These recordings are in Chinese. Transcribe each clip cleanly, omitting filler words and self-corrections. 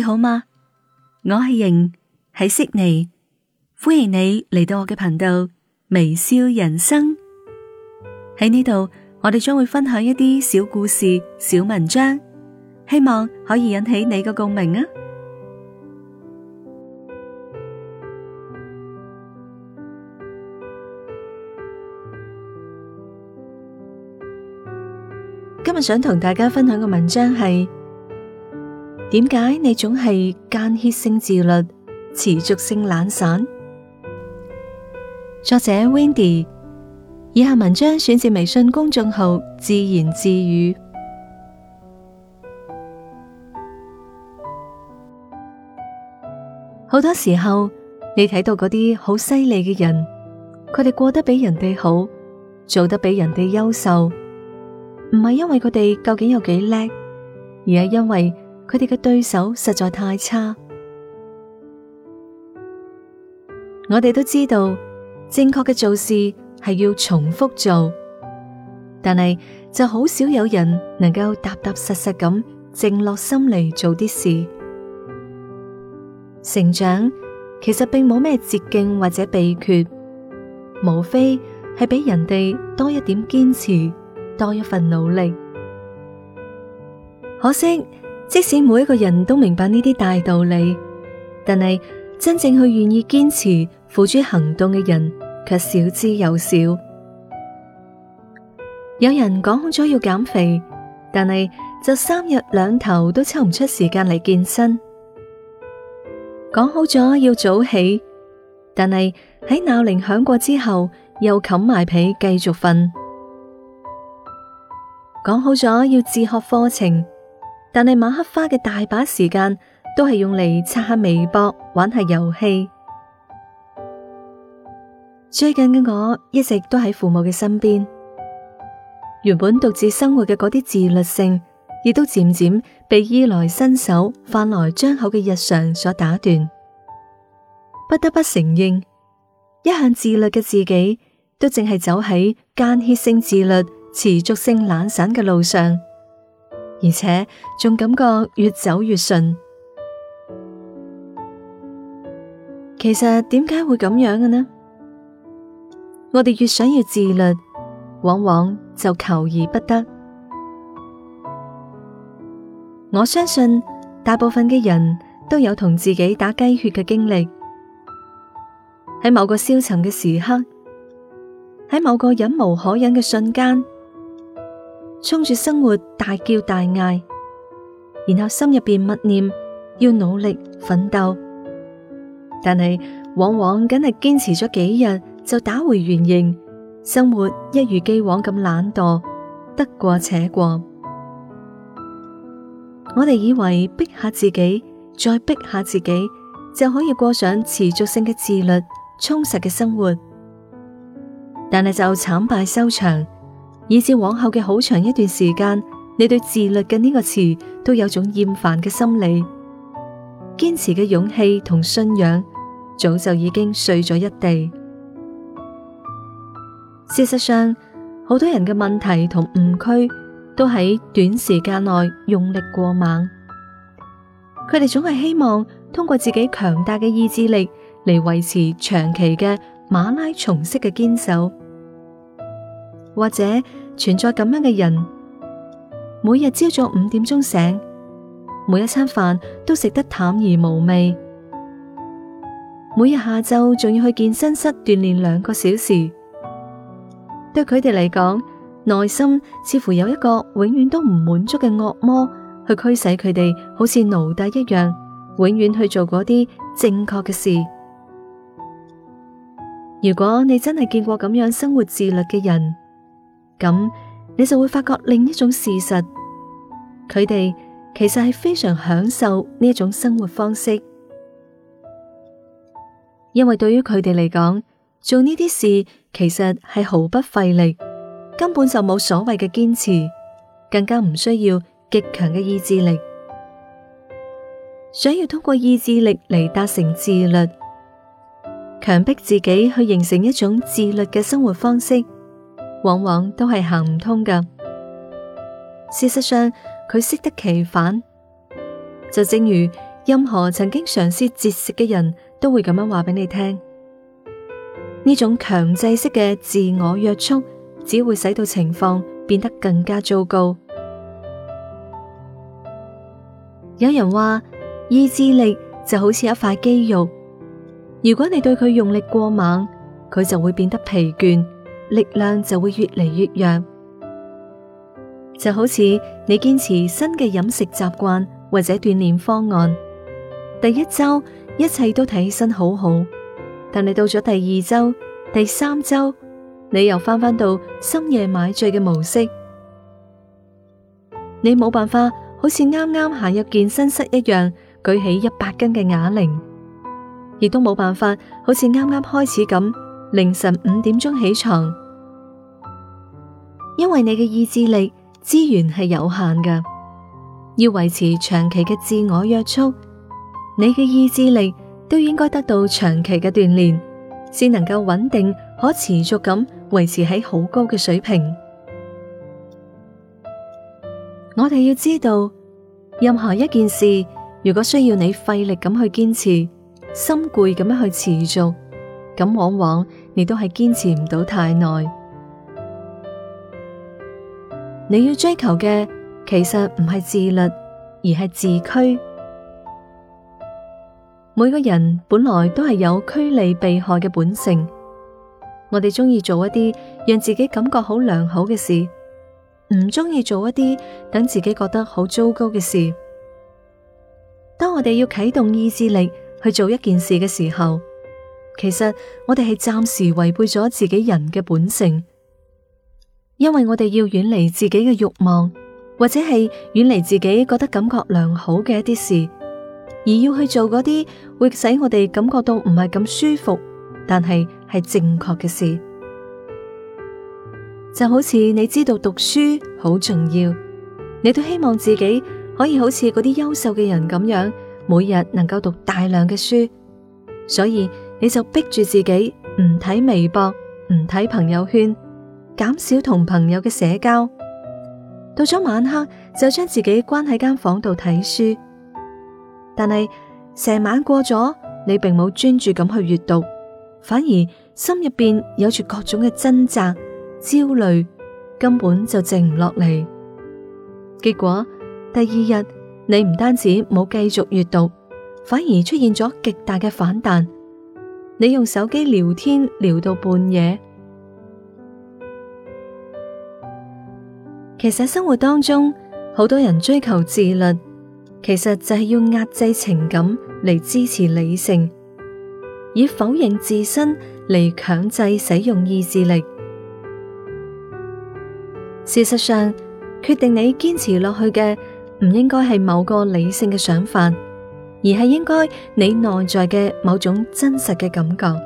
好嗎？我係瑩，喺悉尼，歡迎你嚟到我嘅頻道微笑人生。喺呢度，我哋將會分享一啲小故事、小文章，希望可以引起你嘅共鳴啊！今日想同大家分享嘅文章係：點解你總係間歇性自律，持續性懶散？作者 Wendy， 以下文章選自微信公眾號自言自語。好多時候，你睇到嗰啲好犀利嘅人，佢哋過得比人哋好，做得比人哋優秀，唔係因為佢哋究竟有幾叻，而係因為佢哋嘅對手實在太差。我哋都知道，正確嘅做事係要重複做，但係就好少有人能夠踏踏實實咁靜落心嚟做啲事。成長其實並冇咩捷徑或者秘訣，無非係俾人哋多一點堅持，多一份努力。可惜，即使每一個人都明白呢啲大道理，但係真正去願意堅持付諸行動嘅人卻少之又少。有人講好咗要減肥，但係就3日2頭都抽唔出時間嚟健身。講好咗要早起，但係喺鬧鈴響過之後又冚埋被繼續瞓。講好咗要自學課程，但係晚黑花嘅大把時間都係用嚟刷下微博、玩下遊戲。最近嘅我一直都喺父母嘅身邊，原本獨自生活嘅嗰啲自律性，亦都漸漸被衣來伸手、飯來張口嘅日常所打斷。不得不承認，一向自律嘅自己，都淨係走喺間歇性自律、持續性懶散嘅路上，而且仲感覺越走越順。其實點解會咁樣嘅呢？我哋越想要自律，往往就求而不得。我相信大部分嘅人都有同自己打雞血嘅經歷。喺某個消沉嘅時刻，喺某個忍無可忍嘅瞬間，衝住生活大叫大嗌，然後心入邊默念要努力奮鬥，但係往往梗係堅持咗幾日就打回原形，生活一如既往咁懶惰，得過且過。我哋以為逼下自己，再逼下自己，就可以過上持續性嘅自律、充實嘅生活，但係就慘敗收場，以至往後嘅好長一段時間，你對自律嘅呢個詞都有種厭煩嘅心理，堅持嘅勇氣同信仰早就已經碎咗一地。事實上，好多人嘅問題同誤區都喺短時間內用力過猛，佢哋總係希望通過自己強大嘅意志力嚟維持長期嘅馬拉松式嘅堅守。或者存在咁樣嘅人，每日朝早5點鐘醒，每一餐飯都食得淡而無味，每日下晝仲要去健身室鍛煉2個小時。對佢哋嚟講，內心似乎有一個永遠都唔滿足嘅惡魔去驅使佢哋好似奴隸一樣，永遠去做嗰啲正確嘅事。如果你真係見過咁樣生活自律嘅人，咁你就會發覺另一種事實，佢哋其實係非常享受呢一種生活方式，因為對於佢哋嚟講，做呢啲事其實係毫不費力，根本就冇所謂嘅堅持，更加唔需要極強嘅意志力。想要通過意志力嚟達成自律，強迫自己去形成一種自律嘅生活方式，往往都係行唔通㗎。事實上，佢適得其反。就正如任何曾經嘗試節食嘅人都會咁樣話俾你聽。呢種強制式嘅自我約束，只會使到情況變得更加糟糕。有人話，意志力就好似一塊肌肉，如果你對佢用力過猛，佢就會變得疲倦，力量就會越嚟越弱。就好似你堅持新嘅飲食習慣或者鍛煉方案，第一周一切都睇起身好好，但你到咗第二周、第三周，你又返到深夜買醉嘅模式。你冇辦法好似啱啱行入健身室一樣舉起100斤嘅啞鈴，亦都冇辦法好似啱啱開始咁凌晨5點鐘起床，因為你嘅意志力資源係有限嘅，要維持長期嘅自我約束，你嘅意志力都應該得到長期嘅鍛煉，先能夠穩定可持續咁維持喺好高嘅水平。我哋要知道，任何一件事如果需要你費力咁去堅持，心攰咁樣去持續，咁往往你都係堅持唔到太耐。你要追求嘅其實唔係自律，而係自驅。每個人本來都係有趨利避害嘅本性，我哋中意做一啲讓自己感覺好良好嘅事，唔中意做一啲等自己覺得好糟糕嘅事。當我哋要啟動意志力去做一件事嘅時候，其實我哋係暫時違背咗自己人嘅本性。因為我哋要遠離自己嘅慾望，或者係遠離自己覺得感覺良好嘅一啲事，而要去做嗰啲會使我哋感覺到唔係咁舒服，但係正確嘅事。就好似你知道讀書好重要，你都希望自己可以好似嗰啲優秀嘅人咁樣，每日能夠讀大量嘅書，所以你就逼住自己唔睇微博，唔睇朋友圈，減少同朋友嘅社交，到咗晚黑就將自己關喺間房度睇書。但係成晚過咗，你並冇專注咁去閱讀，反而心入邊有住各種嘅掙扎、焦慮，根本就靜唔落嚟。結果第二日你唔單止冇繼續閱讀，反而出現咗極大嘅反彈。你用手機聊天聊到半夜。其實生活當中好多人追求自律，其實就係要壓制情感嚟支持理性，以否認自身嚟強制使用意志力。事實上，決定你堅持落去嘅唔應該係某個理性嘅想法，而係應該你內在嘅某種真實嘅感覺。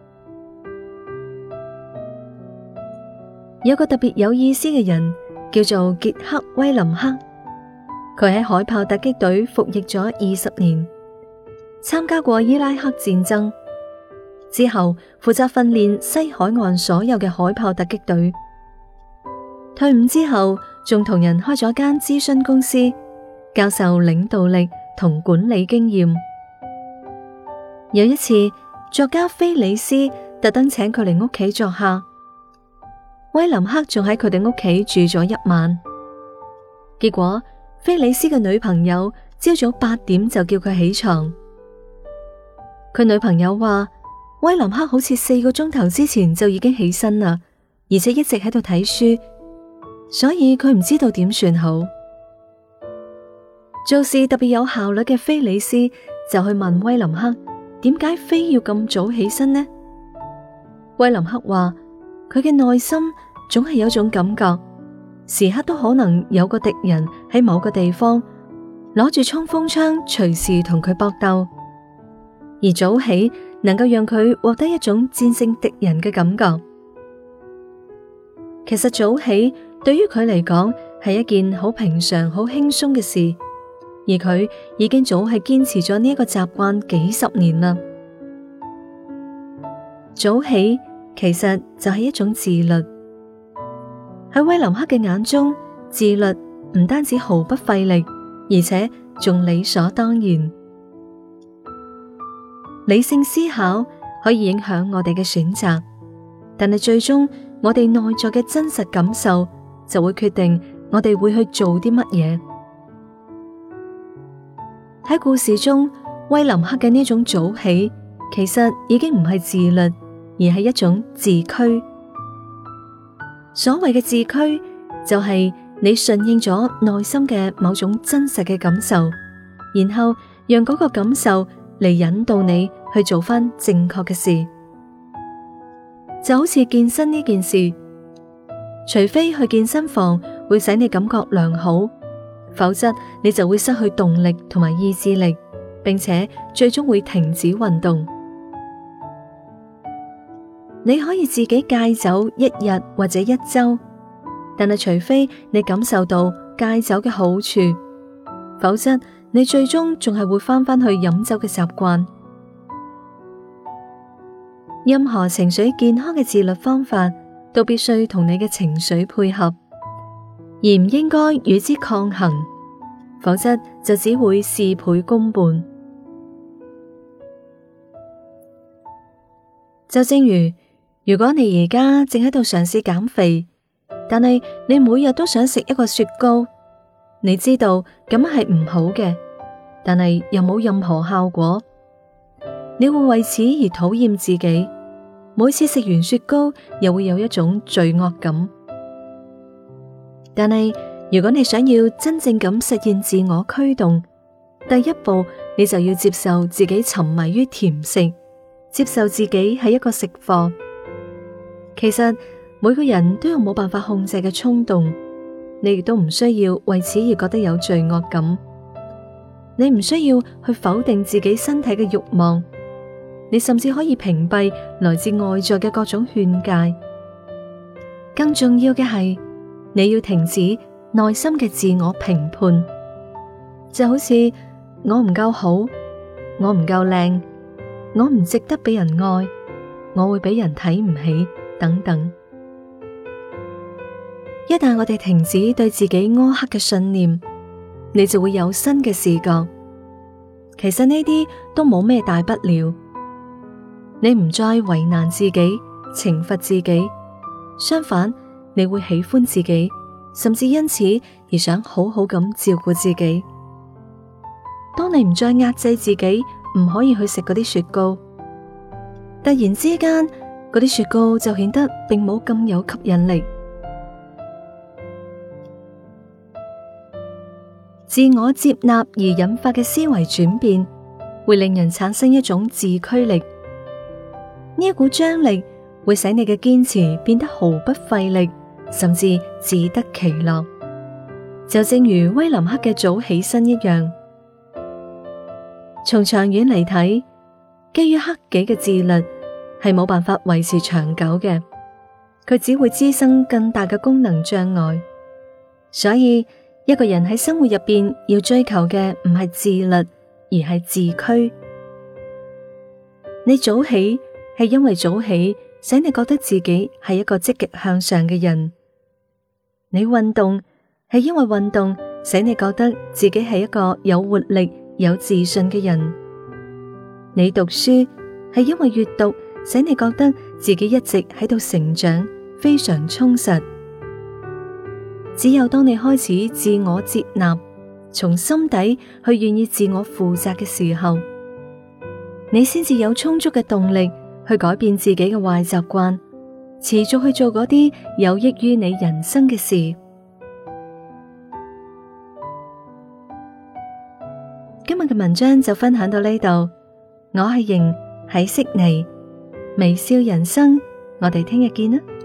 有個特別有意思嘅人，叫做傑克·威林克，佢喺海豹突擊隊服役咗20年，參加過伊拉克戰爭，之後負責訓練西海岸所有嘅海豹突擊隊。退伍之後，仲同人開咗間諮詢公司，教授領導力同管理經驗。有一次，作家菲里斯特登請佢嚟屋企作客。威林克仲喺佢哋屋企住咗1晚，結果菲里斯嘅女朋友朝早8點就叫佢起床。佢女朋友話，威林克好似4個鐘頭之前就已經起身啦，而且一直喺度睇書，所以佢唔知道點算好。做事特別有效率嘅菲里斯就去問威林克，點解非要咁早起身呢？威林克話，佢嘅內心總係有種感覺，時刻都可能有個敵人喺某個地方攞住衝鋒槍，隨時同佢搏鬥。而早起能夠讓佢獲得一種戰勝敵人嘅感覺。其實早起對於佢嚟講係一件好平常、好輕鬆嘅事，而佢已經早係堅持咗呢一個習慣幾十年啦。早起其實就係一種自律。喺威林克嘅眼中，自律唔單止毫不費力，而且仲理所當然。 理性思考可以影響我哋嘅選擇，但係最終我哋內在嘅真實感受就會決定我哋會去做啲乜嘢。喺故事中，威林克嘅呢種早起，其實已經唔係自律，而係一種自驅。所謂嘅自驅，就係你順應咗內心嘅某種真實嘅感受，然後讓嗰個感受嚟引導你去做翻正確嘅事。就好似健身呢件事，除非去健身房會使你感覺良好，否則你就會失去動力同埋意志力，並且最終會停止運動。你可以自己戒酒一日或者一周，但係除非你感受到戒酒嘅好處，否則你最終仲係會翻返去飲酒嘅習慣。任何情緒健康嘅自律方法都必須同你嘅情緒配合，而唔應該與之抗衡，否則就只會事倍功半。就正如果你而家正喺度嘗試減肥，但係你每日都想食一個雪糕，你知道咁係唔好嘅，但係又冇任何效果，你會為此而討厭自己，每次食完雪糕又會有一種罪惡感。但係如果你想要真正咁實現自我驅動，第一步你就要接受自己沉迷於甜食，接受自己係一個食貨。其實每個人都有冇辦法控制嘅衝動，你亦都唔需要為此而覺得有罪惡感。你唔需要去否定自己身體嘅慾望，你甚至可以屏蔽來自外在嘅各種勸誡。更重要嘅係，你要停止內心嘅自我評判，就好似我唔夠好，我唔夠靚，我唔值得俾人愛，我會俾人睇唔起等等。一旦我哋停止對自己苛刻嘅信念，你就會有新嘅視覺。其實呢啲都冇咩大不了，你唔再為難自己，懲罰自己，相反，你會喜歡自己，甚至因此而想好好咁照顧自己。當你唔再壓制自己，唔可以去食嗰啲雪糕，突然之間，嗰啲雪糕就顯得並冇咁有吸引力。自我接納而引發嘅思維轉變，會令人產生一種自驅力。呢一股張力會使你嘅堅持變得毫不費力，甚至自得其樂。就正如威林克嘅早起身一樣。從長遠嚟睇，基於克己嘅自律係冇辦法維持長久嘅，佢只會滋生更大嘅功能障礙。所以一個人喺生活入邊要追求嘅唔係自律，而係自驅。你早起係因為早起使你覺得自己係一個積極向上嘅人，你運動係因為運動使你覺得自己係一個有活力、有自信嘅人，你讀書係因為閱讀使你覺得自己一直喺度成長，非常充實。只有當你開始自我接納，從心底去願意自我負責嘅時候，你先至有充足嘅動力去改變自己嘅壞習慣，持續去做嗰啲有益於你人生嘅事。今日嘅文章就分享到呢度，我係瑩，喺悉尼微笑人生，我哋聽日見啦。